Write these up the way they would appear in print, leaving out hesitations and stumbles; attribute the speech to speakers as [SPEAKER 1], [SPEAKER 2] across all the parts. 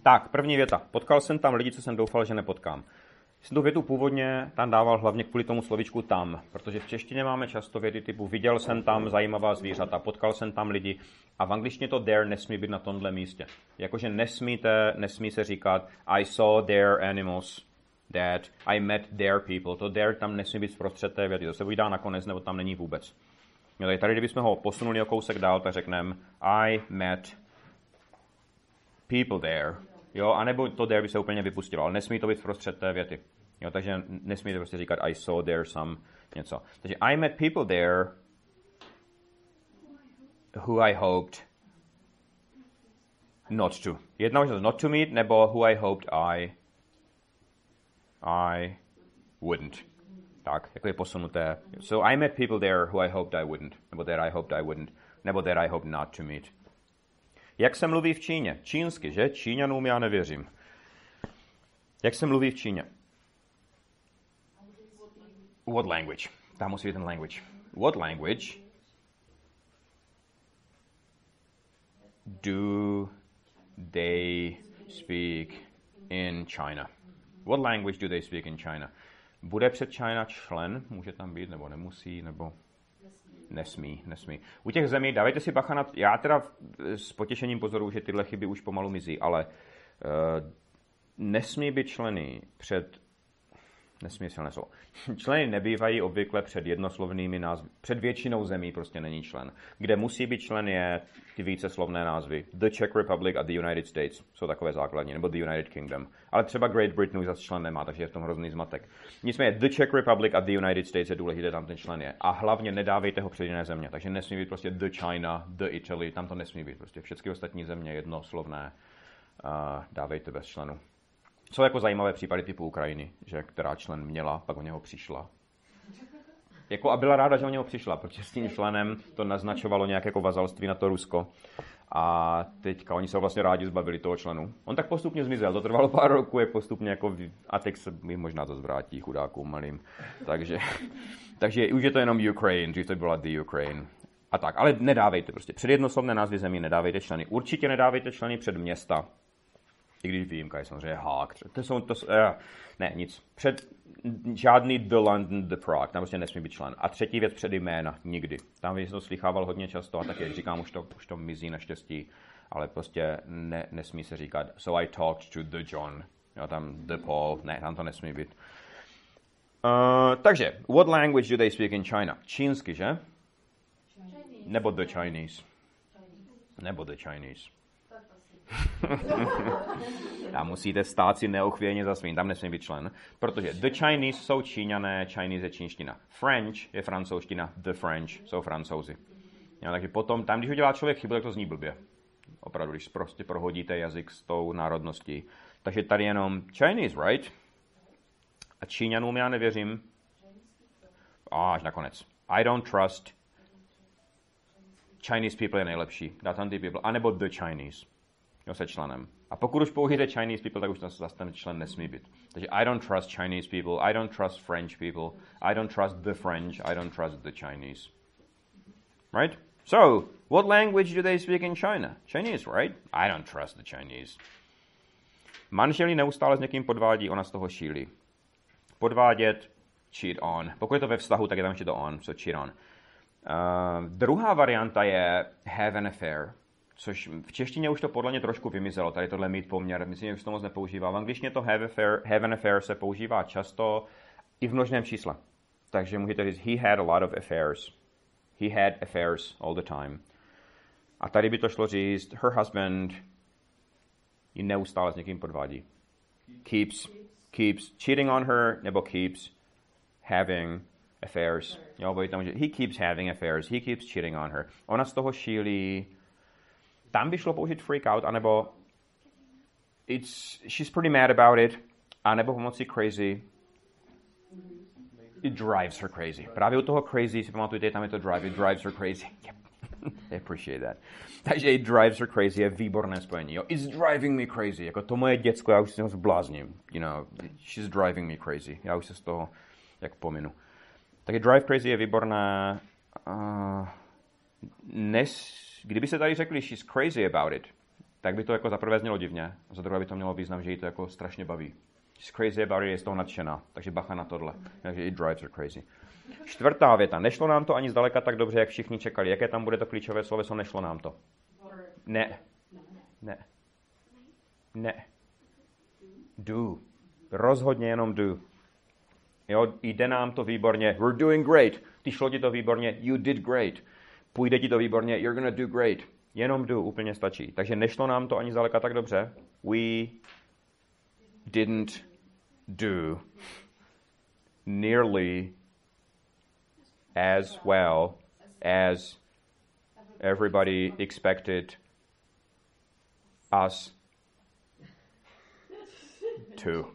[SPEAKER 1] Tak, první věta. Potkal jsem tam lidi, co jsem doufal, že nepotkám. Jsem tu větu původně tam dával hlavně kvůli tomu slovičku tam, protože v češtině máme často věty typu viděl jsem tam zajímavá zvířata, potkal jsem tam lidi a v angličtině to there nesmí být na tomhle místě. Jakože nesmí se říkat I saw their animals, that I met their people. To there tam nesmí být zprostřed té věty. To se buď dá nakonec, nebo tam není vůbec. Jo, tady kdybychom ho posunuli o kousek dál, tak řekneme I met people there. Jo, anebo to there by se úplně vypustilo, ale nesmí to být vprostřed té věty. Jo, takže nesmíte prostě říkat I saw there some něco. Takže I met people there who I hoped not to. Jedna možnost not to meet, nebo who I hoped I wouldn't. Tak, jako je posunuté. So I met people there who I hoped I wouldn't, nebo there I hoped I wouldn't, nebo there I hoped not to meet. Jak se mluví v Číně? Čínsky, že? Číňanům já nevěřím. Jak se mluví v Číně? What language? Tam musí být ten language. What language do they speak in China? What language do they speak in China? Bude před China člen? Může tam být, nebo nemusí, nebo... Nesmí. U těch zemí, dávejte si bacha na... Já teda s potěšením pozoruju, že tyhle chyby už pomalu mizí, ale nesmí být členy před... Nesmí silné slovo. Členy nebývají obvykle před jednoslovnými názvy. Před většinou zemí prostě není člen. Kde musí být člen je ty víceslovné názvy. The Czech Republic a the United States jsou takové základní, nebo the United Kingdom. Ale třeba Great Britain už zase člen nemá, takže je v tom hrozný zmatek. Nicméně the Czech Republic a the United States je důležité, tam ten člen je. A hlavně nedávejte ho před jiné země. Takže nesmí být prostě the China, the Italy, tam to nesmí být. Prostě všechny ostatní země jednoslovné dávejte bez členu. Jsou jako zajímavé případy typu Ukrajiny, že která člen měla, pak o něho přišla. Jako a byla ráda, že o něho přišla, protože s tím členem to naznačovalo nějaké jako vazalství na to Rusko. A teďka oni se vlastně rádi zbavili toho členu. On tak postupně zmizel, to trvalo pár roků, jak postupně jako a teď se mi možná to zvrátí chudákům malým. Takže už je to jenom Ukraine, dřív to byla the Ukraine. A tak, ale nedávejte prostě. Před jednoslovné názvy zemí nedávejte členy. Určitě nedávejte členy před města. I když výjimka je samozřejmě Haag. Ne, nic. Před žádný The London, The Prague. Tam prostě nesmí být člen. A třetí věc před jména. Nikdy. Tam jsem to slychával hodně často a tak, jak říkám, už to mizí naštěstí. Ale prostě nesmí se říkat so I talked to the John. Jo, tam the Paul. Ne, tam to nesmí být. Takže, what language do they speak in China? Čínsky, že? Nebo the Chinese. Nebo the Chinese. A musíte stát si neochvějně za svým, tam nesmí být člen, protože the Chinese jsou Číňané, Chinese je čínština. French je francouzština, the French jsou Francouzi. Jo, takže potom, tam, když udělá člověk chybu, tak to zní blbě. Opravdu, když prostě prohodíte jazyk s tou národností. Takže tady jenom Chinese, right? A Číňanům já nevěřím. Až nakonec. I don't trust. Chinese people je nejlepší. Dá tam ty people. A nebo the Chinese. Jo, se členem. A pokud už použijete Chinese people, tak už zase ten člen nesmí být. Takže I don't trust Chinese people, I don't trust French people, I don't trust the French, I don't trust the Chinese. Right? So, what language do they speak in China? Chinese, right? I don't trust the Chinese. Manželí neustále s někým podvádí, ona z toho šílí. Podvádět, cheat on. Pokud je to ve vztahu, tak je tam ještě to on, so cheat on. Druhá varianta je have an affair. Což v češtině už to podle mě trošku vymizelo, tady tohle mít poměr, myslím, že už to moc nepoužívá. V angličtině to have an affair se používá často i v množném čísle. Takže můžete říct, he had a lot of affairs. He had affairs all the time. A tady by to šlo říct, her husband ji neustále s někým podvádí. Keeps cheating on her, nebo keeps having affairs. Jo, bo tam, že he keeps having affairs, he keeps cheating on her. Ona z toho šílí. Tam by šlo použít freak out, anebo she's pretty mad about it, anebo pomocí crazy. It drives her crazy. Právě u toho crazy, si pamatujte, tam je to drive, it drives her crazy. Yep. I appreciate that. Takže it drives her crazy je výborné spojení. Jo? It's driving me crazy. Jako to moje děcko, já už se toho zblázním. You know, she's driving me crazy. Já už se z toho jak pominu. Takže drive crazy je výborné. Kdyby se tady řekli, she's crazy about it, tak by to jako za prvé znělo divně, a za druhé by to mělo význam, že jí to jako strašně baví. She's crazy about it, je z toho nadšená, takže bacha na tohle. Takže it drives her crazy. Čtvrtá věta. Nešlo nám to ani zdaleka tak dobře, jak všichni čekali. Jaké tam bude to klíčové sloveso? Nešlo nám to. Ne. Ne. Ne. Do. Rozhodně jenom do. Jo, jde nám to výborně. We're doing great. Ty šlo ti to výborně. You did great. Půjde ti to výborně. You're gonna do great. Jenom do úplně stačí. Takže nešlo nám to ani zdaleka tak dobře. We didn't do nearly as well as everybody expected us to.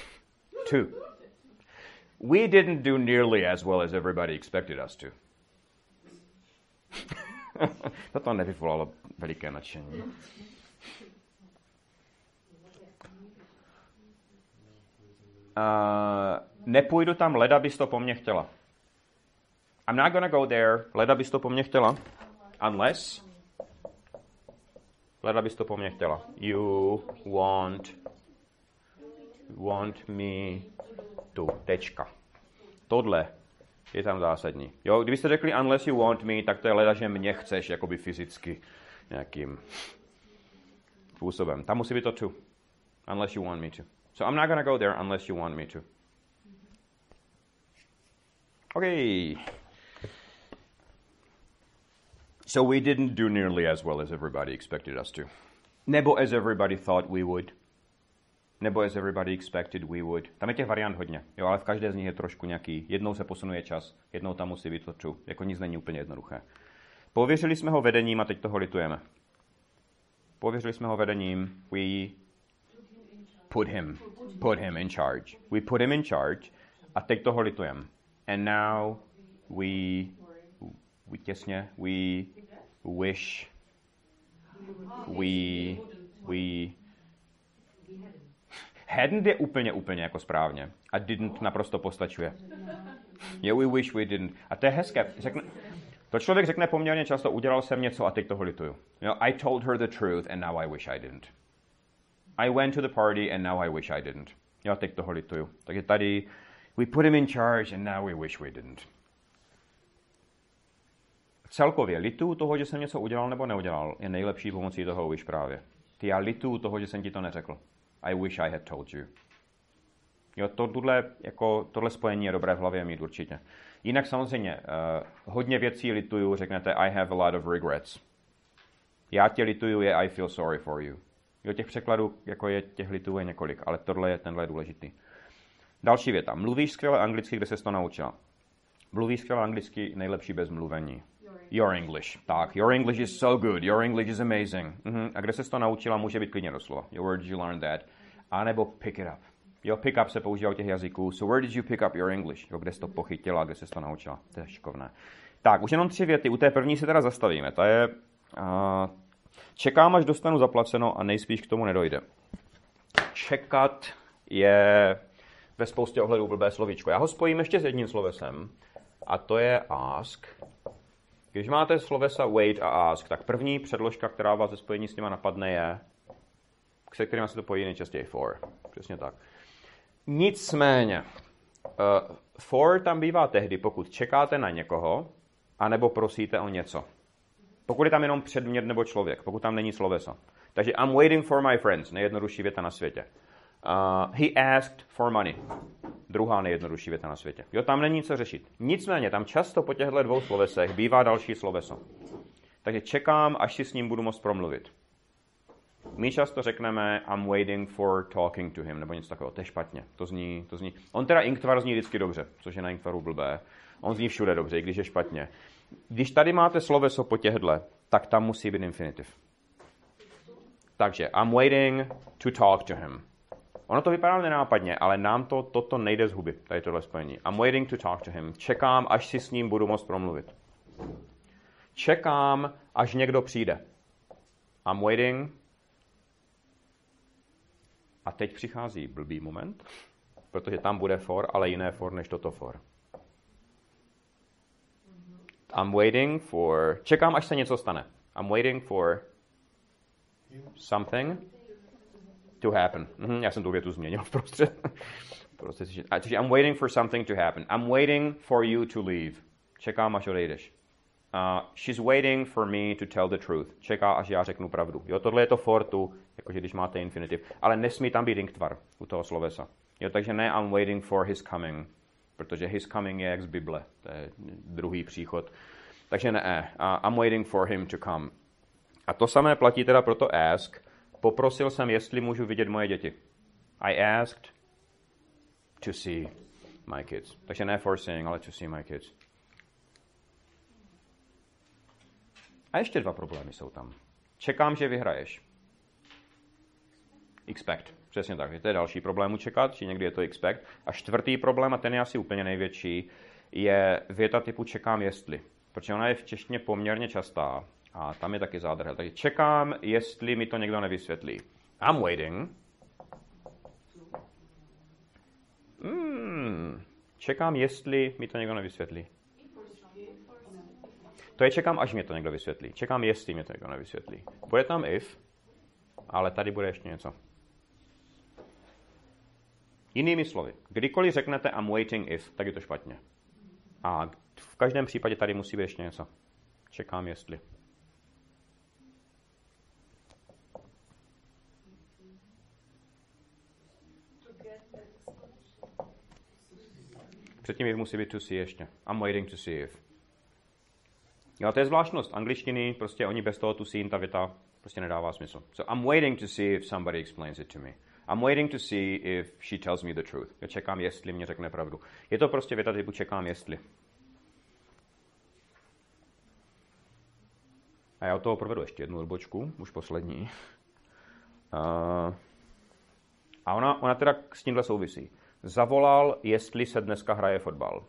[SPEAKER 1] We didn't do nearly as well as everybody expected us to. Toto nevyvolalo veliké nadšení. Nepůjdu tam, leda bys to po mně chtěla. I'm not gonna go there, leda bys to po mně chtěla. Unless, leda bys to po mně chtěla. You want me to. Tečka. Tohle je tam zásadní. Jo, kdybyste řekli unless you want me, tak to je leda, že mě chceš, jakoby fyzicky nějakým způsobem. Tam musí být to to. Unless you want me to. So I'm not gonna go there unless you want me to. Okay. So we didn't do nearly as well as everybody expected us to. Nebo as everybody thought we would. Nebo as everybody expected we would. Tam je těch variant hodně, jo, ale v každé z nich je trošku nějaký. Jednou se posunuje čas, jednou tam musí být to true. Jako nic není úplně jednoduché. Pověřili jsme ho vedením a teď toho litujeme. Pověřili jsme ho vedením. We put him in charge. We put him in charge a teď toho litujeme. And now we wish hadn't je úplně jako správně. A didn't naprosto postačuje. Yeah, we wish we didn't. A to je hezké. To člověk řekne poměrně často, udělal jsem něco a teď toho lituju. I told her the truth and now I wish I didn't. I went to the party and now I wish I didn't. Jo, teď toho lituju. Takže tady we put him in charge and now we wish we didn't. Celkově lituju toho, že jsem něco udělal nebo neudělal, je nejlepší pomocí toho wish právě. Já lituju toho, že jsem ti to neřekl. I wish I had told you. Jo, tohle spojení je dobré v hlavě mít určitě. Jinak samozřejmě, hodně věcí lituju, řeknete I have a lot of regrets. Já tě lituju je I feel sorry for you. Jo, těch překladů, jako je těch litujů je několik, ale tenhle je důležitý. Další věta. Mluvíš skvěle anglicky, kde ses to naučila? Mluvíš skvěle anglicky, nejlepší bez mluvení. Your English. Tak, your English is so good. Your English is amazing. A kde ses to naučila, může být klidně doslova. Where did you learn that? A nebo pick it up. Jo, pick up se používá u těch jazyků. So where did you pick up your English? Jo, kde jsi to pochytila, kde ses to naučila. To je šikovné. Tak, už jenom 3 věty. U té první se teda zastavíme. Ta je... čekám, až dostanu zaplaceno a nejspíš k tomu nedojde. Čekat je ve spoustě ohledů blbé slovíčko. Já ho spojím ještě s jedním slovesem. A to je ask. Když máte slovesa wait a ask, tak první předložka, která vás ze spojení s nima napadne, je, se kterým se to pojí nejčastěji for. Přesně tak. Nicméně, for tam bývá tehdy, pokud čekáte na někoho, anebo prosíte o něco. Pokud je tam jenom předmět nebo člověk, pokud tam není sloveso. Takže I'm waiting for my friends, nejjednodušší věta na světě. He asked for money. Druhá nejjednodušší věta na světě. Jo, tam není co řešit. Nicméně, tam často po těchto 2 slovesech bývá další sloveso. Takže čekám, až si s ním budu moct promluvit. My často řekneme I'm waiting for talking to him, nebo něco takového. To je špatně. To zní. On teda inktvar zní vždycky dobře, což je na inktvaru blbé. On zní všude dobře, i když je špatně. Když tady máte sloveso po těchto, tak tam musí být infinitiv. Takže I'm waiting to talk to him. Ono to vypadá nenápadně, ale nám toto nejde z huby, tady tohle spojení. I'm waiting to talk to him. Čekám, až si s ním budu moct promluvit. Čekám, až někdo přijde. I'm waiting. A teď přichází blbý moment, protože tam bude for, ale jiné for než toto for. I'm waiting for... Čekám, až se něco stane. I'm waiting for something to happen. Já jsem tu větu změnil v prostřed. Takže I'm waiting for something to happen. I'm waiting for you to leave. Čekám, až odejdeš. She's waiting for me to tell the truth. Čeká, až já řeknu pravdu. Jo, tohle je to for tu, jakože když máte infinitiv. Ale nesmí tam být inktvar u toho slovesa. Jo, takže ne I'm waiting for his coming. Protože his coming je jak z Bible. To je druhý příchod. Takže ne. I'm waiting for him to come. A to samé platí teda pro to ask. Poprosil jsem, jestli můžu vidět moje děti. I asked to see my kids. Takže ne for seeing, ale to see my kids. A ještě 2 problémy jsou tam. Čekám, že vyhraješ. Expect. Přesně tak. To je další problém čekat, či někdy je to expect. A 4. problém, a ten je asi úplně největší, je věta typu čekám jestli. Protože ona je v češtině poměrně častá. A tam je taky zádrhel. Takže čekám, jestli mi to někdo nevysvětlí. I'm waiting. Čekám, jestli mi to někdo nevysvětlí. To je čekám, až mě to někdo vysvětlí. Čekám, jestli mě to někdo nevysvětlí. Bude tam if, ale tady bude ještě něco. Jinými slovy, kdykoliv řeknete I'm waiting if, tak je to špatně. A v každém případě tady musí být ještě něco. Čekám, jestli. Předtím if musí být to see ještě. I'm waiting to see if. Jo, to je zvláštnost angličtiny, prostě oni bez toho tu see, ta věta prostě nedává smysl. So I'm waiting to see if somebody explains it to me. I'm waiting to see if she tells me the truth. Já čekám, jestli mě řekne pravdu. Je to prostě věta typu čekám, jestli. A já od toho provedu ještě jednu odbočku, už poslední. A ona teda s tímhle souvisí. Zavolal, jestli se dneska hraje fotbal.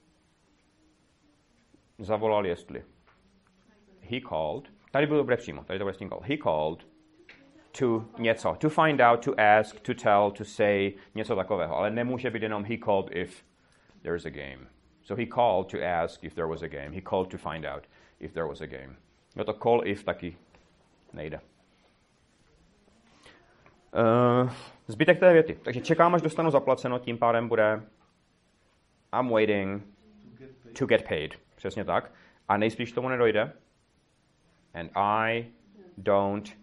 [SPEAKER 1] Zavolal, jestli. He called. Tady bylo dobré přímo. Tady to bude s tím call. He called to něco. To find out, to ask, to tell, to say, něco takového. Ale nemůže být jenom he called if there's a game. So he called to ask if there was a game. He called to find out if there was a game. No to call if taky nejde. Zbytek té věty. Takže čekám, až dostanu zaplaceno, tím pádem bude I'm waiting to get paid. Přesně tak. A nejspíš tomu nedojde. And I don't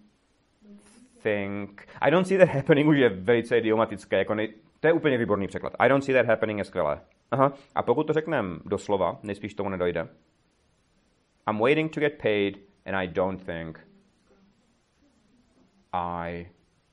[SPEAKER 1] see that happening už je velice idiomatické. Jako to je úplně výborný překlad. I don't see that happening je skvělé. Aha. A pokud to řekneme doslova, nejspíš tomu nedojde. I'm waiting to get paid and I don't think I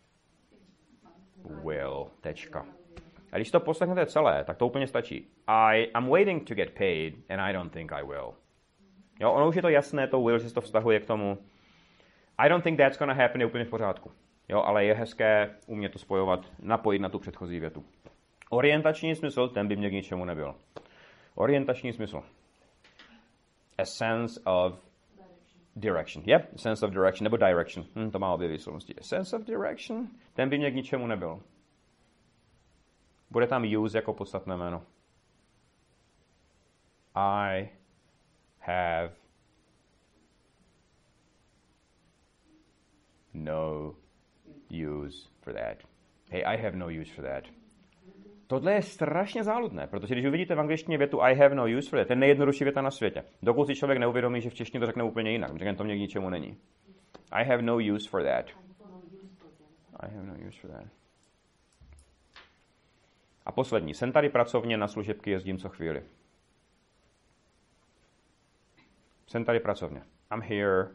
[SPEAKER 1] will. Tečka. A když to poslechnete celé, tak to úplně stačí. I'm waiting to get paid and I don't think I will. Jo, ono už je to jasné, to will, že se to vztahuje k tomu. I don't think that's gonna happen je úplně v pořádku. Jo, ale je hezké umět to spojovat, napojit na tu předchozí větu. Orientační smysl, ten by mě k ničemu nebyl. Orientační smysl. A sense of direction. Yep, a sense of direction, nebo direction. To má obě výslovnosti. A sense of direction, ten by mě k ničemu nebyl. Bude tam use jako podstatné jméno. I have no use for that. Hey, I have no use for that. Tohle je strašně záludné, protože když uvidíte v angličtině větu I have no use for that, to je nejjednodušší věta na světě. Dokud si člověk neuvědomí, že v češtině to řekne úplně jinak, protože to mě k ničemu není. I have no use for that. I have no use for that. A poslední. Jsem tady pracovně, na služebky jezdím co chvíli. Jsem tady pracovně. I'm here.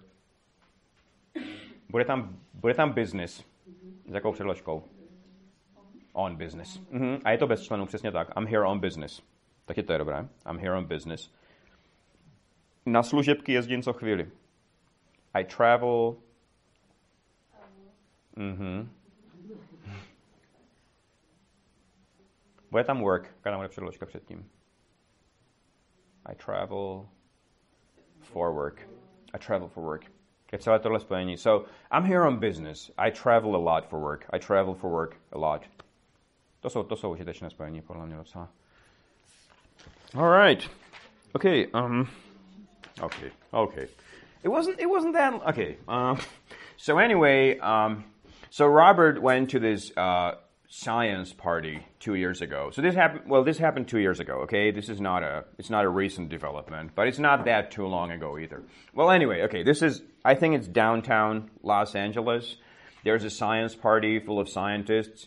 [SPEAKER 1] Bude tam business. S jakou předložkou? On business. A je to bez členů, přesně tak. I'm here on business. Taky to je dobré. I'm here on business. Na služebky jezdím co chvíli. I travel. Bude tam work, když bude předložka předtím. I travel for work. I travel for work. Je celé tohle spojení. So, I'm here on business. I travel a lot for work. I travel for work a lot. To jsou užitečné spojení, podle mě docela. All right. Okay. It wasn't that. Okay. So anyway, so Robert went to this science party 2 years ago. So this happened. Well, this happened 2 years ago. Okay, this is it's not a recent development, but it's not that too long ago either. Well, anyway, okay, I think it's downtown Los Angeles. There's a science party full of scientists,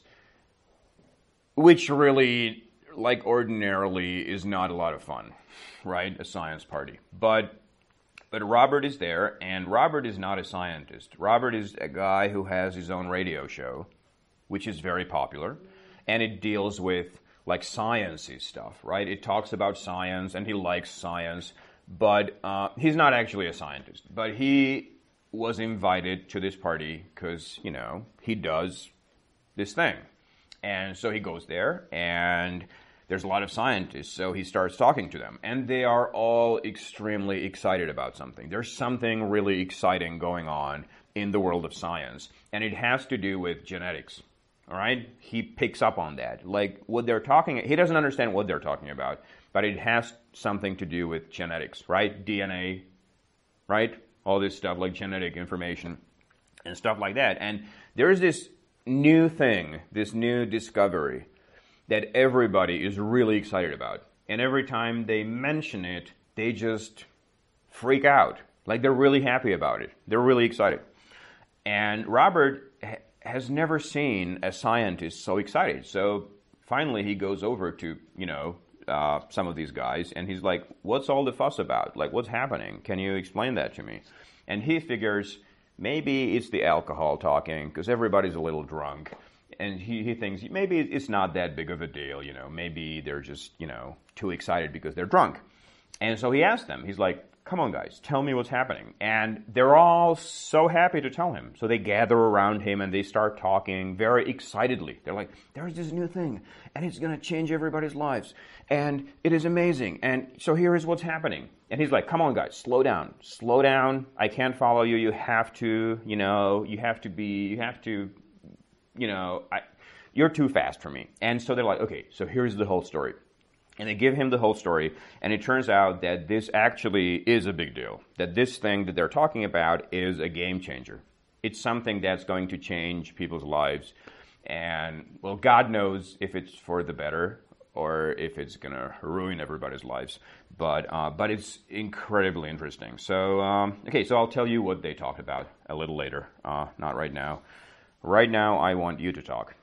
[SPEAKER 1] which really, like ordinarily, is not a lot of fun, right? A science party, but Robert is there, and Robert is not a scientist. Robert is a guy who has his own radio show, which is very popular, and it deals with like sciencey stuff, right? It talks about science, and he likes science, but he's not actually a scientist. But he was invited to this party because, he does this thing. And so he goes there, and there's a lot of scientists, so he starts talking to them. And they are all extremely excited about something. There's something really exciting going on in the world of science, and it has to do with genetics. All right? He picks up on that. Like what they're he doesn't understand what they're talking about, but it has something to do with genetics, right? DNA, right? All this stuff like genetic information and stuff like that. And there's this new thing, this new discovery that everybody is really excited about. And every time they mention it, they just freak out. Like they're really happy about it. They're really excited. And Robert has never seen a scientist so excited. So finally he goes over to, some of these guys, and he's like, what's all the fuss about? Like, what's happening? Can you explain that to me? And he figures maybe it's the alcohol talking, because everybody's a little drunk. And he thinks maybe it's not that big of a deal, maybe they're just, too excited because they're drunk. And so he asked them, he's like, come on guys, tell me what's happening. And they're all so happy to tell him. So they gather around him and they start talking very excitedly. They're like, there's this new thing and it's going to change everybody's lives. And it is amazing. And so here is what's happening. And he's like, come on guys, slow down. Slow down. I can't follow you. You have to, you're too fast for me. And so they're like, okay, so here's the whole story. And they give him the whole story, and it turns out that this actually is a big deal, that this thing that they're talking about is a game changer. It's something that's going to change people's lives, and, well, God knows if it's for the better or if it's going to ruin everybody's lives, but it's incredibly interesting. So, so I'll tell you what they talked about a little later, not right now. Right now, I want you to talk.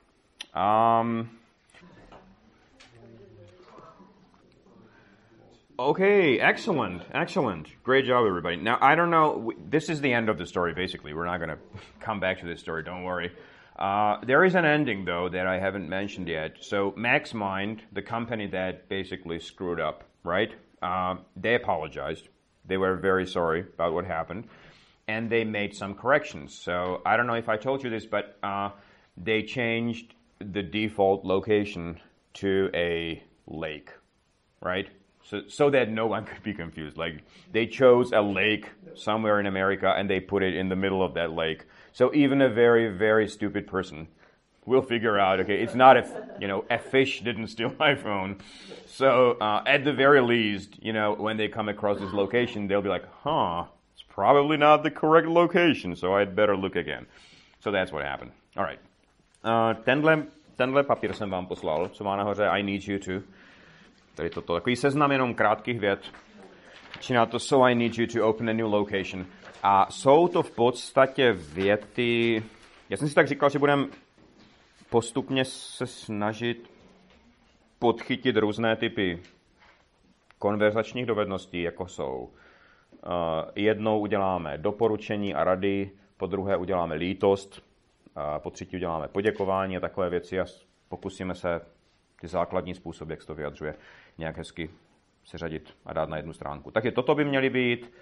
[SPEAKER 1] Okay, excellent. Great job, everybody. Now, I don't know, this is the end of the story, basically. We're not going to come back to this story, don't worry. There is an ending, though, that I haven't mentioned yet. So, MaxMind, the company that basically screwed up, right? They apologized. They were very sorry about what happened. And they made some corrections. So, I don't know if I told you this, but they changed the default location to a lake, right? So that no one could be confused. Like, they chose a lake somewhere in America and they put it in the middle of that lake. So even a very, very stupid person will figure out, okay, it's not a fish didn't steal my phone. So at the very least, when they come across this location, they'll be like, it's probably not the correct location, so I'd better look again. So that's what happened. All right. Tenhle papír jsem vám poslal, co má nahoře I need you to. Tady toto, takový seznam jenom krátkých vět. Začíná to so I need you to open a new location. A jsou to v podstatě věty, já jsem si tak říkal, že budeme postupně se snažit podchytit různé typy konverzačních dovedností, jako jsou. Jednou uděláme doporučení a rady, po druhé uděláme lítost, po třetí uděláme poděkování a takové věci a pokusíme se ty základní způsoby, jak se to vyjadřuje, nějak hezky seřadit a dát na jednu stránku. Takže toto by měly být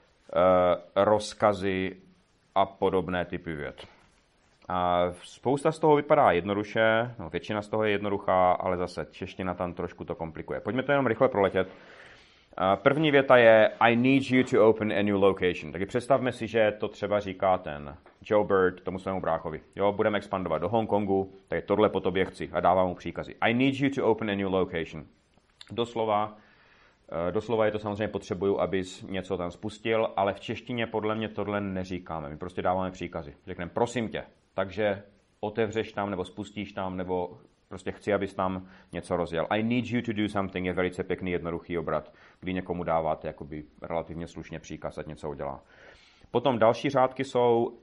[SPEAKER 1] rozkazy a podobné typy vět. A spousta z toho vypadá jednoduše, většina z toho je jednoduchá, ale zase čeština tam trošku to komplikuje. Pojďme to jenom rychle proletět. První věta je I need you to open a new location. Takže představme si, že to třeba říká ten Joe Bird tomu svému bráchovi. Jo, budeme expandovat do Hongkongu, tak tohle po tobě chci a dávám mu příkazy. I need you to open a new location. Doslova Doslova je to samozřejmě potřebuju, abys něco tam spustil, ale v češtině podle mě tohle neříkáme. My prostě dáváme příkazy. Řekneme prosím tě, takže otevřeš tam nebo spustíš tam nebo prostě chci, abys tam něco rozjel. I need you to do something je velice pěkný, jednoduchý obrat, kdy někomu dáváte jakoby relativně slušně příkaz, ať něco udělá. Potom další řádky jsou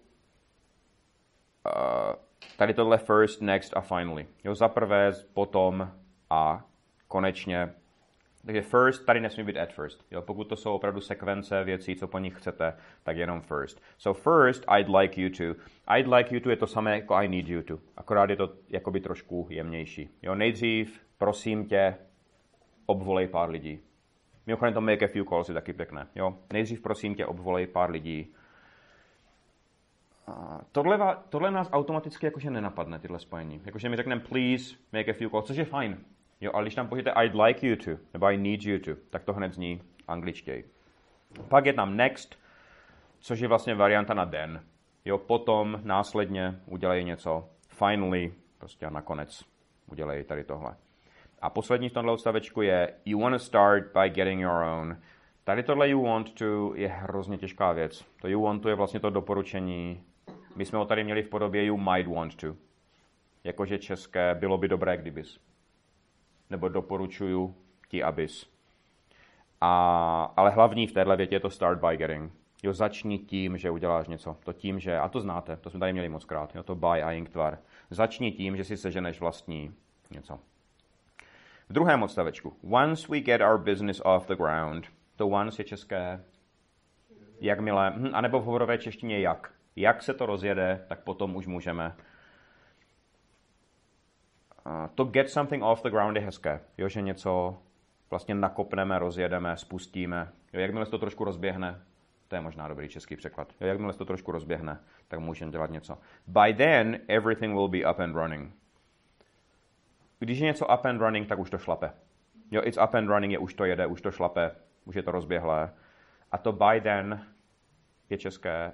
[SPEAKER 1] tady tohle first, next a finally. Jo, za prvé, potom a konečně. Takže first tady nesmí být at first. Jo, pokud to jsou opravdu sekvence věcí, co po nich chcete, tak jenom first. So first, I'd like you to. I'd like you to je to samé jako I need you to. Akorát je to jakoby trošku jemnější. Jo, nejdřív, prosím tě, obvolej pár lidí. Mimochodem to make a few calls je taky pěkné. Jo, nejdřív, prosím tě, obvolej pár lidí. Tohle nás automaticky jakože nenapadne, tyhle spojení. Jakože my řekneme please, make a few calls, což je fajn. Jo, ale když tam pošlete I'd like you to, nebo I need you to, tak to hned zní angličtěji. Pak je tam next, což je vlastně varianta na den. Jo, potom následně udělej něco. Finally, prostě a nakonec udělej tady tohle. A poslední v tomhle odstavečku je you want to start by getting your own. Tady tohle you want to je hrozně těžká věc. To you want to je vlastně to doporučení. My jsme ho tady měli v podobě you might want to. Jakože české bylo by dobré, kdybys. Nebo doporučuju ti, abys. Ale hlavní v téhle větě je to start by getting. Jo, začni tím, že uděláš něco. To tím, že, a to znáte, to jsme tady měli mockrát, jo, to by a ing tvar. Začni tím, že si seženeš vlastní něco. V druhém odstavečku. Once we get our business off the ground. To once je české jakmile, anebo v hovorové češtině jak. Jak se to rozjede, tak potom už můžeme. To get something off the ground je hezké. Jo, že něco vlastně nakopneme, rozjedeme, spustíme. Jo, jakmile se to trošku rozběhne, to je možná dobrý český překlad. Jo, jakmile se to trošku rozběhne, tak můžeme dělat něco. By then, everything will be up and running. Když je něco up and running, tak už to šlape. Jo, it's up and running je už to jede, už to šlape, už je to rozběhlé. A to by then je české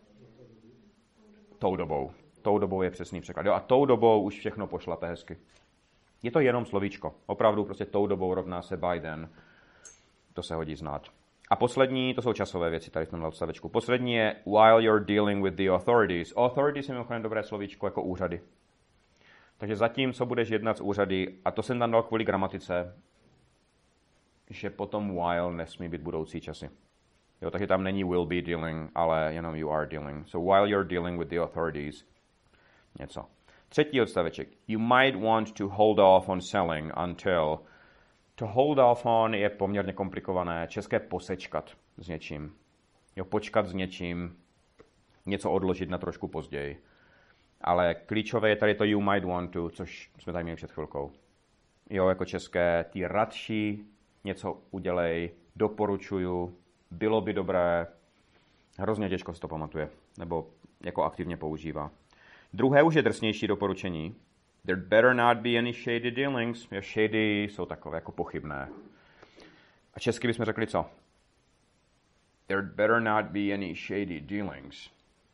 [SPEAKER 1] tou dobou. Tou dobou je přesný překlad. Jo, a tou dobou už všechno pošlape hezky. Je to jenom slovíčko. Opravdu prostě tou dobou rovná se by then. To se hodí znát. A poslední, to jsou časové věci tady v tomhle odstavečku. Poslední je while you're dealing with the authorities. Authorities je mimochodem dobré slovíčko jako úřady. Takže zatím, co budeš jednat s úřady, a to jsem tam dal kvůli gramatice, že potom while nesmí být budoucí časy. Jo, takže tam není will be dealing, ale jenom you are dealing. So while you're dealing with the authorities, něco. Třetí odstaveček. You might want to hold off on selling until. To hold off on je poměrně komplikované. České posečkat s něčím. Jo, počkat s něčím, něco odložit na trošku později. Ale klíčové je tady to you might want to, což jsme tady měli před chvilkou. Jo, jako české, ty radši něco udělej, doporučuju, bylo by dobré, hrozně těžko se to pamatuje, nebo jako aktivně používá. Druhé už je drsnější doporučení. There better not be any shady dealings. Shady jsou takové jako pochybné. A česky bychom řekli co? There better not be any shady dealings.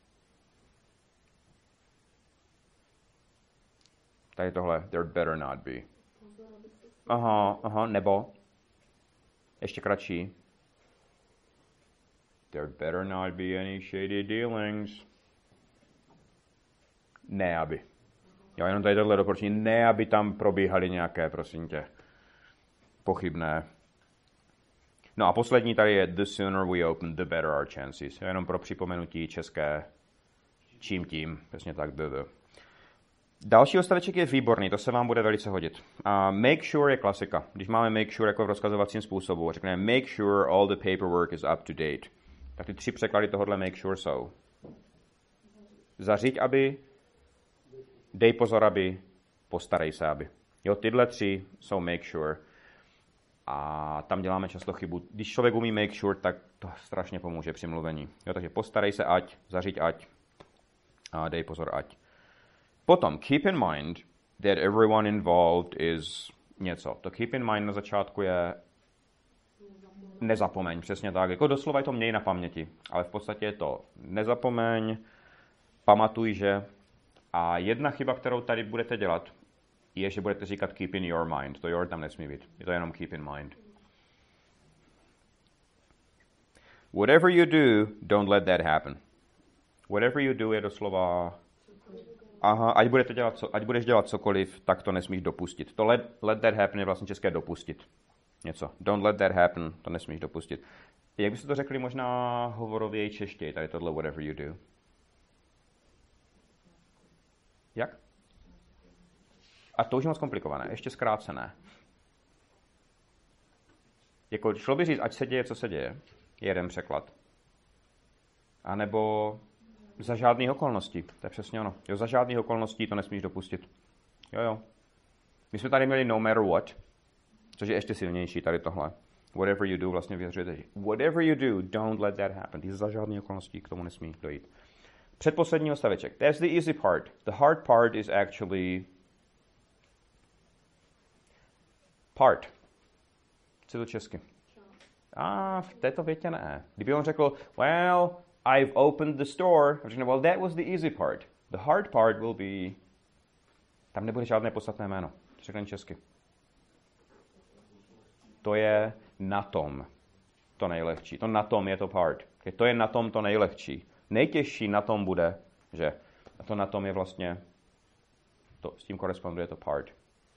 [SPEAKER 1] Tady tohle, there better not be. Aha, nebo. Ještě kratší. There better not be any shady dealings. Ne, aby. Jo, jenom tady tohle doporučení. Ne, aby tam probíhaly nějaké, prosím tě, pochybné. No a poslední tady je the sooner we open, the better our chances. Jo, jenom pro připomenutí české čím tím. Přesně tak, the. Další odstaveček je výborný, to se vám bude velice hodit. Make sure je klasika. Když máme make sure jako v rozkazovacím způsobu, řekneme make sure all the paperwork is up to date. Tak ty 3 překlady tohohle make sure jsou. Zařiď, aby, dej pozor, aby, postarej se, aby. Jo, tyhle 3 jsou make sure. A tam děláme často chybu. Když člověk umí make sure, tak to strašně pomůže při mluvení. Jo, takže postarej se, ať, zařiď, ať, a dej pozor, ať. Potom, keep in mind that everyone involved is něco. To keep in mind na začátku je nezapomeň, přesně tak. Jako doslova je to měj na paměti, ale v podstatě je to nezapomeň, pamatuj, že. A jedna chyba, kterou tady budete dělat, je, že budete říkat keep in your mind. To your tam nesmí být. Je to jenom keep in mind. Whatever you do, don't let that happen. Whatever you do je doslova... Aha, ať budeš dělat cokoliv, tak to nesmíš dopustit. To let that happen je vlastně české dopustit. Něco. Don't let that happen, to nesmíš dopustit. Jak byste to řekli možná hovorověji češtěji, tady tohle whatever you do? Jak? A to už je moc komplikované, ještě zkrácené. Jako šlo by říct, ať se děje, co se děje, je jeden překlad. A nebo za žádných okolností, to je přesně ono. Jo, za žádných okolností to nesmíš dopustit. Jo. My jsme tady měli no matter what, což je ještě silnější tady tohle. Whatever you do vlastně vyjadřujete. Whatever you do, don't let that happen. Za žádných okolností k tomu nesmí dojít. Předposlední odstaveček. That's the easy part. The hard part is actually part. Co je to česky? V této větě ne. Kdyby on řekl, well, I've opened the store, řekne, well, that was the easy part. The hard part will be... Tam nebude žádné podstatné jméno. Řekne česky. To je na tom to nejlehčí. To na tom je to part. To je na tom to nejlehčí. Nejtěžší na tom bude, že to na tom je vlastně, to, s tím koresponduje to part.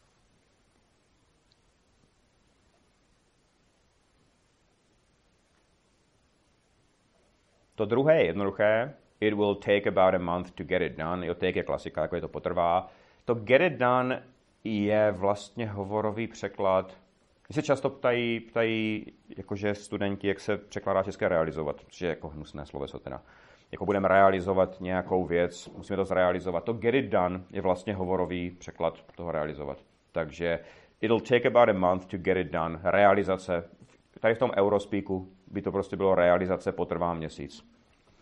[SPEAKER 1] To druhé je jednoduché. It will take about a month to get it done. Jo, take je klasika, jako je to potrvá. To get it done je vlastně hovorový překlad. Mě se často ptají jakože studenti, jak se překládá české realizovat, což je jako hnusné sloveso teda. Jako budeme realizovat nějakou věc, musíme to zrealizovat. To get it done je vlastně hovorový překlad toho realizovat. Takže it'll take about a month to get it done. Realizace. Tady v tom Eurospeaku by to prostě bylo realizace potrvá měsíc.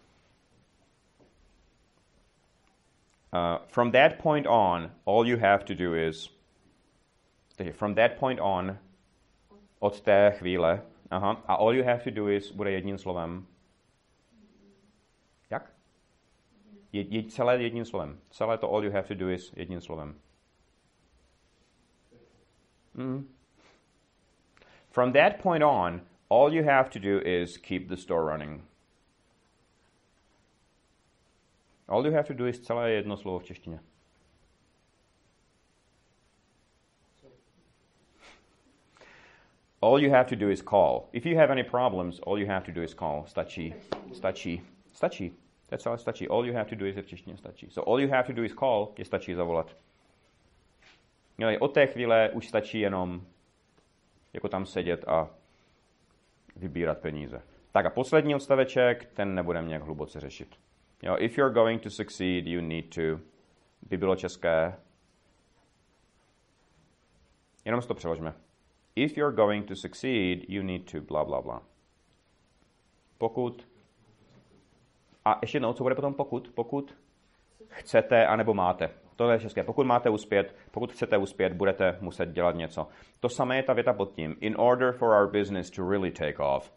[SPEAKER 1] From that point on, all you have to do is... From that point on, od té chvíle, a all you have to do is, bude jedním slovem. Jak? Celé jedním slovem. Celé to all you have to do is jedním slovem. From that point on, all you have to do is keep the store running. All you have to do is celé jedno slovo v češtině. All you have to do is call. If you have any problems, all you have to do is call. Stačí. To je celé stačí. All you have to do is v češtině stačí. So all you have to do is call, je stačí zavolat. Od té chvíle už stačí jenom jako tam sedět a vybírat peníze. Tak a poslední odstaveček, ten nebudeme nějak hluboce řešit. If you're going to succeed, you need to, by bylo české. Jenom si to přeložme. If you're going to succeed, you need to bla bla bla. Pokud. A ještě jednou, co bude potom pokud? Pokud chcete anebo máte. To je české. Pokud máte uspět, pokud chcete uspět, budete muset dělat něco. To samé je ta věta pod tím. In order for our business to really take off.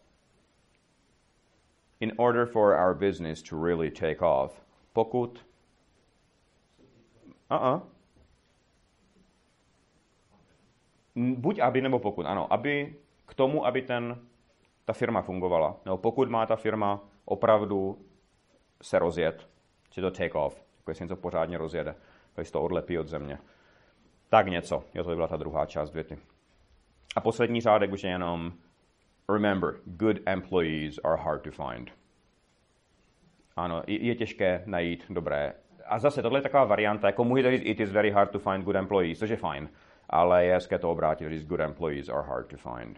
[SPEAKER 1] In order for our business to really take off. Pokud. Buď aby nebo pokud. Ano, aby k tomu, aby ta firma fungovala. Nebo pokud má ta firma opravdu se rozjet, či to take off, jako jestli něco pořádně rozjede, když to odlepí od země. Tak něco. Jo, to by byla ta druhá část věty. A poslední řádek už je jenom remember, good employees are hard to find. Ano, je těžké najít dobré. A zase, tohle je taková varianta, jako můžete říct, it is very hard to find good employees, což je fajn. Ale je hezké to obrátit, říct, good employees are hard to find.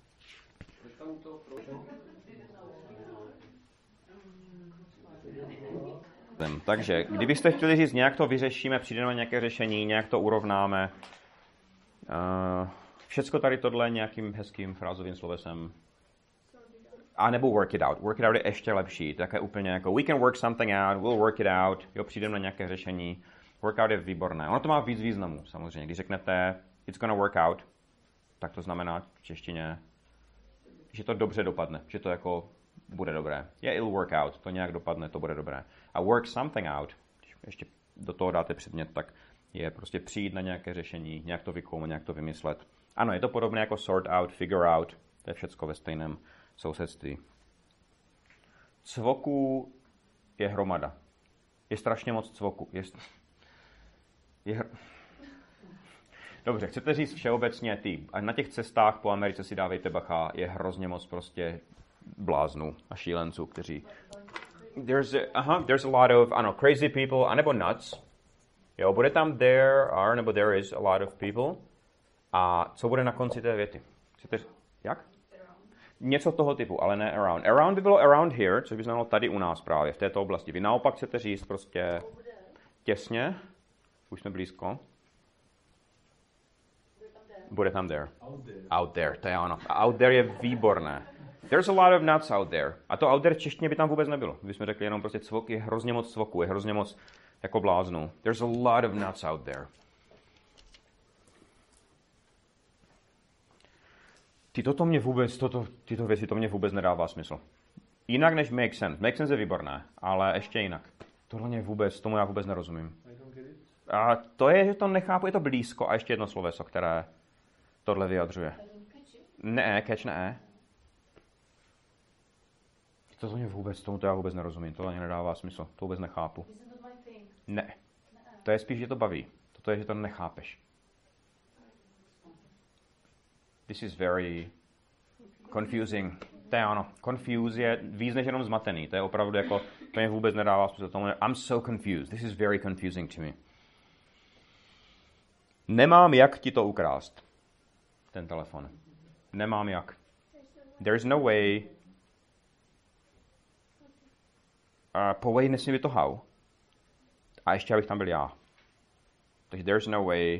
[SPEAKER 1] Takže, kdybyste chtěli říct, nějak to vyřešíme, přijdeme nějaké řešení, nějak to urovnáme. Všecko tady tohle nějakým hezkým frázovým slovesem. A nebo work it out. Work it out je ještě lepší. Také úplně jako we can work something out, we'll work it out. Jo, přijdeme na nějaké řešení. Workout je výborné. Ono to má víc významů, samozřejmě. Když řeknete it's gonna work out, tak to znamená v češtině, že to dobře dopadne, že to jako bude dobré. It'll work out, to nějak dopadne, to bude dobré. A work something out, když ještě do toho dáte předmět, tak je prostě přijít na nějaké řešení, nějak to vykoumat, nějak to vymyslet. Ano, je to podobné jako sort out, figure out, to je všecko ve stejném sousedství. Cvoků je hromada. Je strašně moc cvoku. Dobře, chcete říct všeobecně a na těch cestách po Americe si dávejte bacha, je hrozně moc prostě bláznů a šílenců, kteří... There's a lot of, ano, crazy people, anebo nuts. Jo, bude tam nebo there is a lot of people. A co bude na konci té věty? Jak? Něco toho typu, ale ne around. Around by bylo around here, což by znamenalo tady u nás právě, v této oblasti. Vy naopak chcete říct prostě těsně, už jsme blízko. Bude tam there. Out there, to je ono. Out there je výborné. There's a lot of nuts out there. A to out there v češtině by tam vůbec nebylo. Kdybychom řekli jenom prostě cvok, je hrozně moc cvoku, je hrozně moc jako bláznů. There's a lot of nuts out there. Tyto věci to mě vůbec nedává smysl. Jinak než make sense. Make sense je výborné, ale ještě jinak. Tomu já vůbec nerozumím. A to je, že to nechápu, je to blízko. A ještě jedno sloveso, které tohle vyjadřuje. Ne, catch ne. Tomu já vůbec nerozumím. To ani nedává smysl. To vůbec nechápu. Ne. To je spíš, že to baví. Toto je, že to nechápeš. This is very confusing. To je ono. Confuse je víc než jenom zmatený. To je opravdu jako, to mě vůbec nedává smysl. I'm so confused. This is very confusing to me. Nemám jak ti to ukrást. Ten telefon. Nemám jak. There's no way. Po way nesmí být to how. A ještě abych tam byl já. Takže there's no way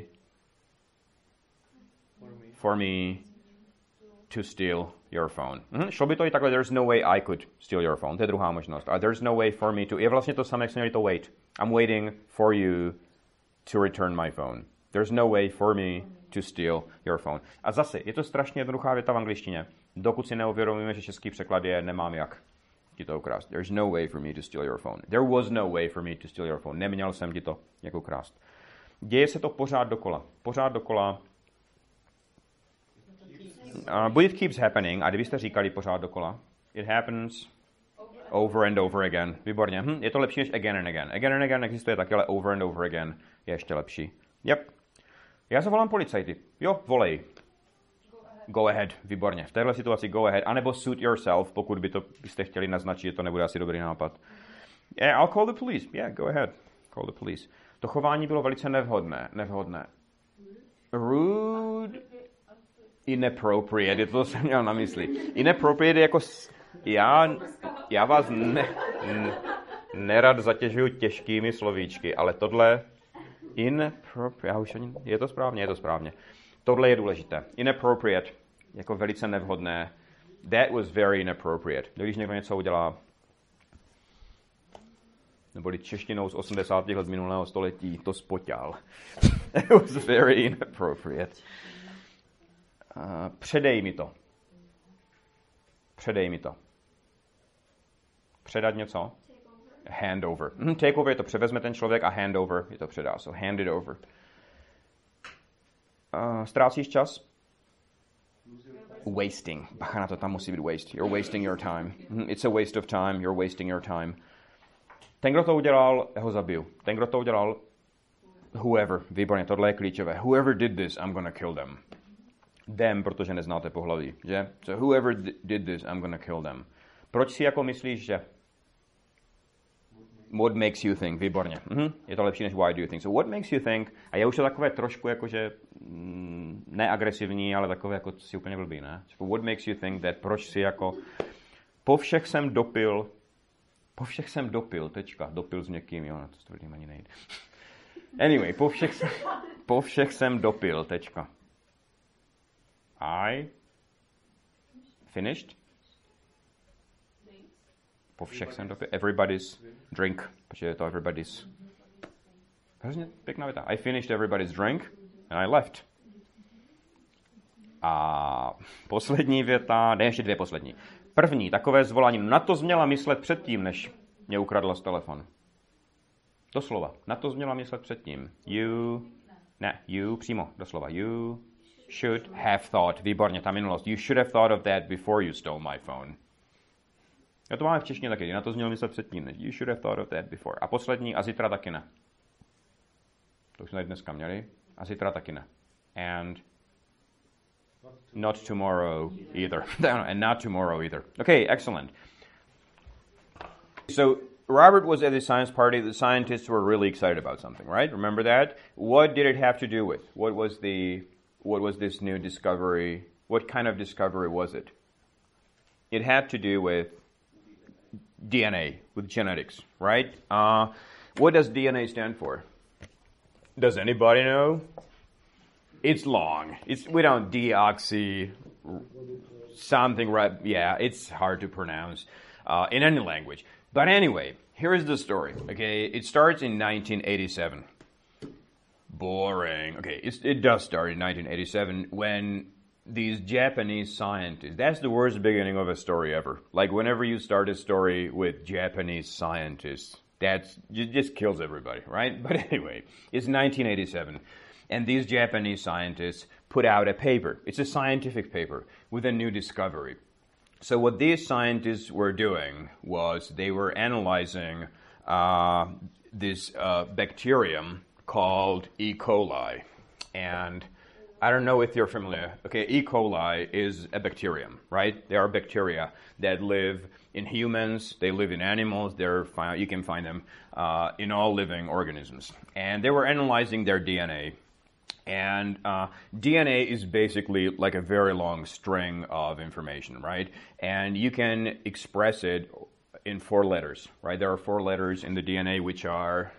[SPEAKER 1] for me to steal your phone. Šlo by to i takhle, there's no way I could steal your phone. To je druhá možnost. A there's no way for me to... Je vlastně to samé, jak jsme měli to wait. I'm waiting for you to return my phone. There's no way for me to steal your phone. A zase, je to strašně jednoduchá věta v angličtině. Dokud si neuvědomíme, že český překlad je nemám jak ti to ukrást. There's no way for me to steal your phone. There was no way for me to steal your phone. Neměl jsem ti to jak ukrást. Děje se to pořád dokola. Pořád dokola. But it keeps happening. A kdybyste říkali pořád dokola, it happens over and over again. Výborně. Je to lepší než again and again. Again and again existuje taky, ale over and over again je ještě lepší. Yep. Já zavolám policajty. Jo, volej. Go ahead. Výborně. V téhle situaci go ahead. A nebo suit yourself, pokud byste chtěli naznačit, že to nebude asi dobrý nápad. Yeah, I'll call the police. Yeah, go ahead. Call the police. To chování bylo velice nevhodné. Rude. Inappropriate, to jsem měl na mysli. Inappropriate je jako... Já vás nerad zatěžuju těžkými slovíčky, ale tohle... Je to správně. Tohle je důležité. Inappropriate, jako velice nevhodné. That was very inappropriate. Když někdo něco udělá, neboli češtinou z 80. let minulého století, to spoťal. It was very inappropriate. Předej mi to. Předat něco? Hand over. Take over je to převezme ten člověk a hand over je to předá. So hand it over. Ztrácíš čas? Wasting. Bacha na to, tam musí být waste. You're wasting your time. It's a waste of time. You're wasting your time. Ten, kdo to udělal, ho zabiju. Ten, kdo to udělal, whoever. Výborně, tohle je klíčové. Whoever did this, I'm gonna kill them. Them, protože neznáte pohlaví, že? So whoever did this, I'm gonna kill them. Proč si jako myslíš, že? What makes you think? Výborně. Je to lepší než why do you think. So what makes you think? A je už to takové trošku jakože neagresivní, ale takové jako si úplně blbý, ne? So what makes you think that? Proč si jako po všech jsem dopil, tečka. Dopil s někým, jo, na to s tvrdým ani nejde. Anyway, po všech jsem dopil, tečka. I finished? Po všech jsem dopil. Everybody's drink. Protože je to everybody's. Hrozně pěkná věta. I finished everybody's drink and I left. A poslední věta, ne, ještě dvě poslední. První, takové zvolání. Na to jsi měla myslet předtím, než mě ukradla z telefon. Doslova. Na to jsi měla myslet předtím. You, přímo, doslova. You should have thought. Výborně, ta minulost. You should have thought of that before you stole my phone. Já to máme v češtině taky, na to zněl myslet předtím. You should have thought of that before. A poslední, a zítra taky ne. To už jsme tady dneska měli. A zítra taky ne. And not tomorrow either. And not tomorrow either. Okay, excellent. So Robert was at the science party. The scientists were really excited about something, right? Remember that? What did it have to do with? What was this new discovery? What kind of discovery was it? It had to do with DNA, with genetics, right? What does DNA stand for? Does anybody know? It's long. We don't deoxy something, right? Yeah, it's hard to pronounce in any language. But anyway, here is the story. Okay, it starts in 1987. Boring. Okay, it does start in 1987 when these Japanese scientists, that's the worst beginning of a story ever. Like whenever you start a story with Japanese scientists, it just kills everybody, right? But anyway, it's 1987. And these Japanese scientists put out a paper. It's a scientific paper with a new discovery. So what these scientists were doing was they were analyzing this bacterium called E. coli. And I don't know if you're familiar. Okay, E. coli is a bacterium, right? There are bacteria that live in humans, they live in animals, you can find them in all living organisms. And they were analyzing their DNA. And DNA is basically like a very long string of information, right? And you can express it in 4 letters, right? There are 4 letters in the DNA which are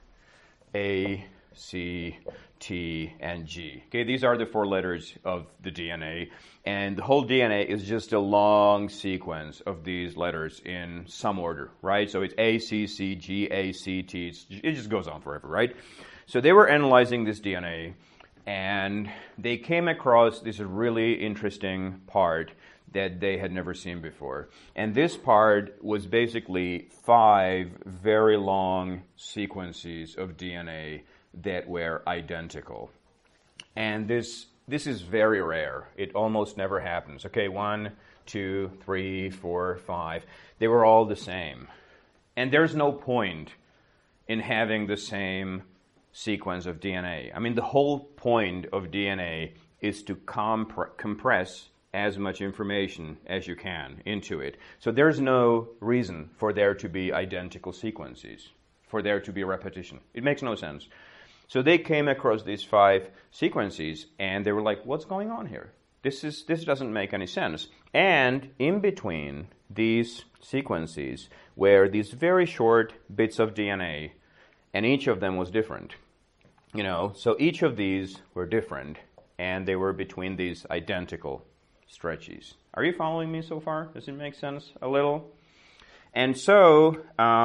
[SPEAKER 1] A, C, T, and G. Okay, these are the 4 letters of the DNA. And the whole DNA is just a long sequence of these letters in some order, right? So it's A, C, C, G, A, C, T. It just goes on forever, right? So they were analyzing this DNA, and they came across this really interesting part that they had never seen before. And this part was basically 5 very long sequences of DNA that were identical. And this is very rare. It almost never happens. Okay, 1, 2, 3, 4, 5. They were all the same. And there's no point in having the same sequence of DNA. I mean, the whole point of DNA is to compress as much information as you can into it. So there's no reason for there to be identical sequences, for there to be repetition. It makes no sense. So they came across these 5 sequences, and they were like, what's going on here? This doesn't make any sense. And in between these sequences were these very short bits of DNA, and each of them was different. You know, so each of these were different, and they were between these identical stretches. Are you following me so far? Does it make sense a little? And so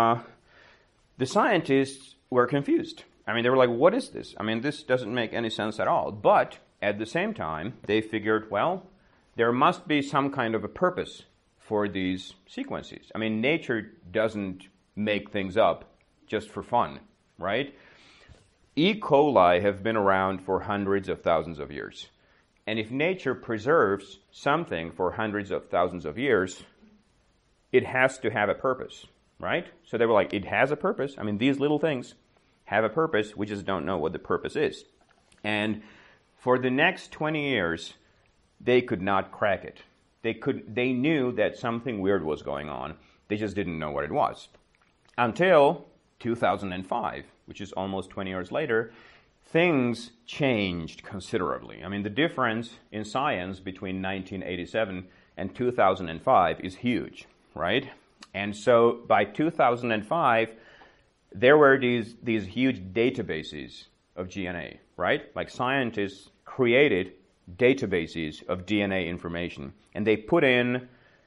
[SPEAKER 1] the scientists were confused. I mean, they were like, what is this? I mean, this doesn't make any sense at all. But at the same time, they figured, well, there must be some kind of a purpose for these sequences. I mean, nature doesn't make things up just for fun, right? E. coli have been around for hundreds of thousands of years. And if nature preserves something for hundreds of thousands of years, it has to have a purpose, right? So they were like, it has a purpose. I mean, these little things have a purpose. We just don't know what the purpose is. And for the next 20 years, they could not crack it. They knew that something weird was going on. They just didn't know what it was. Until 2005, which is almost 20 years later, things changed considerably. I mean, the difference in science between 1987 and 2005 is huge, right? And so by 2005, there were these huge databases of DNA, right? Like scientists created databases of DNA information, and they put in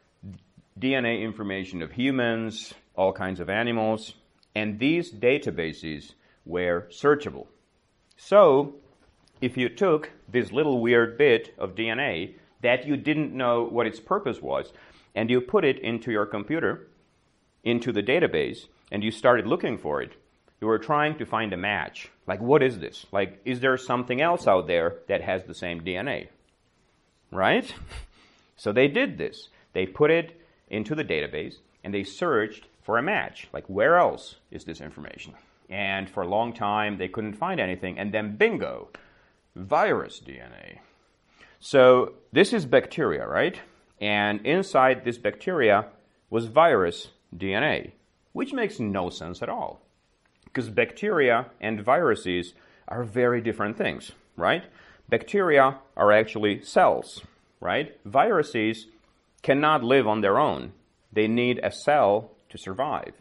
[SPEAKER 1] DNA information of humans, all kinds of animals, and these databases were searchable. So, if you took this little weird bit of DNA that you didn't know what its purpose was, and you put it into your computer, into the database, and you started looking for it, you were trying to find a match. Like, what is this? Like, is there something else out there that has the same DNA? Right? So they did this. They put it into the database, and they searched for a match. Like, where else is this information? And for a long time, they couldn't find anything. And then, bingo, virus DNA. So this is bacteria, right? And inside this bacteria was virus DNA, which makes no sense at all. Because bacteria and viruses are very different things, right? Bacteria are actually cells, right? Viruses cannot live on their own. They need a cell to survive.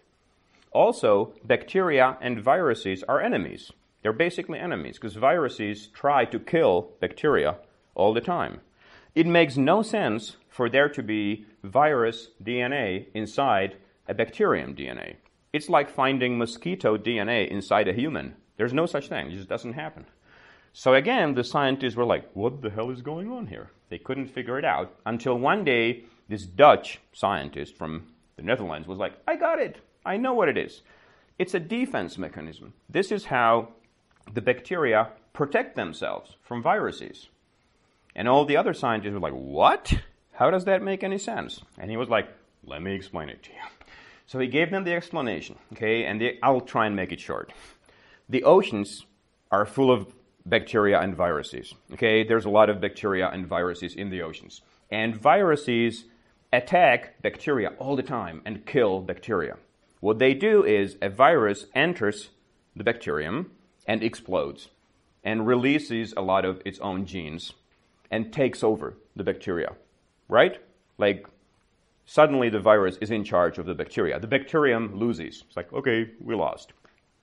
[SPEAKER 1] Also, bacteria and viruses are enemies. They're basically enemies because viruses try to kill bacteria all the time. It makes no sense for there to be virus DNA inside a bacterium DNA. It's like finding mosquito DNA inside a human. There's no such thing. It just doesn't happen. So again, the scientists were like, what the hell is going on here? They couldn't figure it out until one day this Dutch scientist from the Netherlands was like, I got it. I know what it is. It's a defense mechanism. This is how the bacteria protect themselves from viruses. And all the other scientists were like, what? How does that make any sense? And he was like, let me explain it to you. So he gave them the explanation, okay, and I'll try and make it short. The oceans are full of bacteria and viruses, okay? There's a lot of bacteria and viruses in the oceans. And viruses attack bacteria all the time and kill bacteria. What they do is a virus enters the bacterium and explodes and releases a lot of its own genes and takes over the bacteria, right? Like, suddenly the virus is in charge of the bacteria. The bacterium loses. It's like, okay, we lost.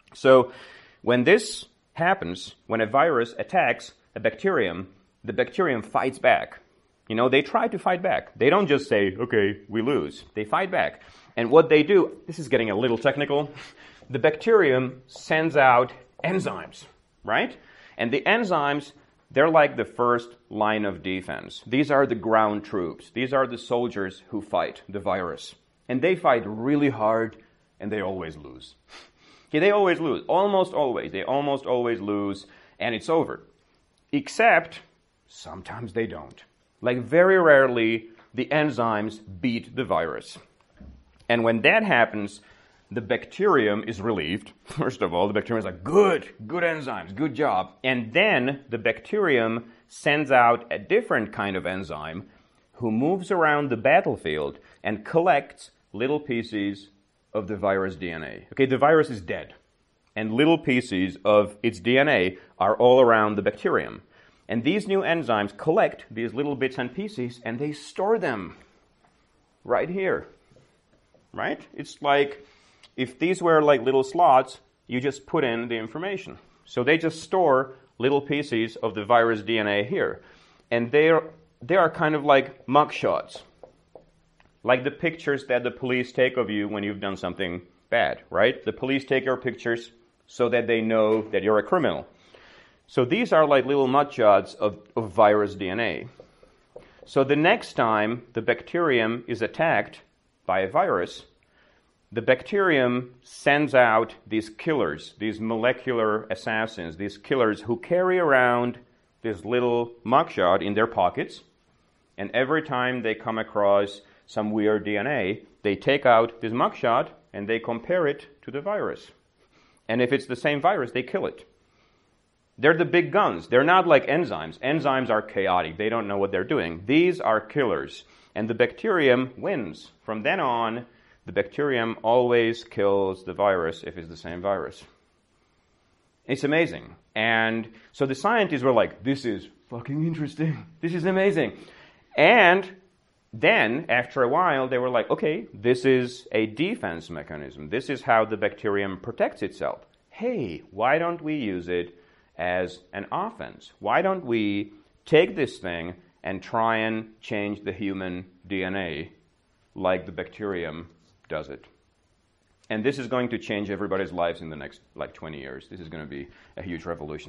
[SPEAKER 1] So when this happens, when a virus attacks a bacterium, the bacterium fights back. You know, they try to fight back. They don't just say, okay, we lose. They fight back. And what they do, this is getting a little technical, the bacterium sends out enzymes, right? And the enzymes, they're like the first line of defense. These are the ground troops. These are the soldiers who fight the virus. And they fight really hard, and they always lose. Okay, they always lose. Almost always. They almost always lose, and it's over. Except, sometimes they don't. Like, very rarely, the enzymes beat the virus. And when that happens, the bacterium is relieved. First of all, the bacterium is like, good enzymes, good job. And then the bacterium sends out a different kind of enzyme who moves around the battlefield and collects little pieces of the virus DNA. Okay, the virus is dead, and little pieces of its DNA are all around the bacterium. And these new enzymes collect these little bits and pieces, and they store them right here, right? It's like, if these were like little slots, you just put in the information. So they just store little pieces of the virus DNA here. And they are kind of like mugshots. Like the pictures that the police take of you when you've done something bad, right? The police take your pictures so that they know that you're a criminal. So these are like little mugshots of virus DNA. So the next time the bacterium is attacked by a virus, the bacterium sends out these killers, these molecular assassins, these killers who carry around this little mugshot in their pockets. And every time they come across some weird DNA, they take out this mugshot and they compare it to the virus. And if it's the same virus, they kill it. They're the big guns. They're not like enzymes. Enzymes are chaotic. They don't know what they're doing. These are killers. And the bacterium wins. From then on, the bacterium always kills the virus if it's the same virus. It's amazing. And so the scientists were like, this is fucking interesting. This is amazing. And then, after a while, they were like, okay, this is a defense mechanism. This is how the bacterium protects itself. Hey, why don't we use it as an offense? Why don't we take this thing and try and change the human DNA like the bacterium does it? And this is going to change everybody's lives in the next 20 years. This is going to be a huge revolution.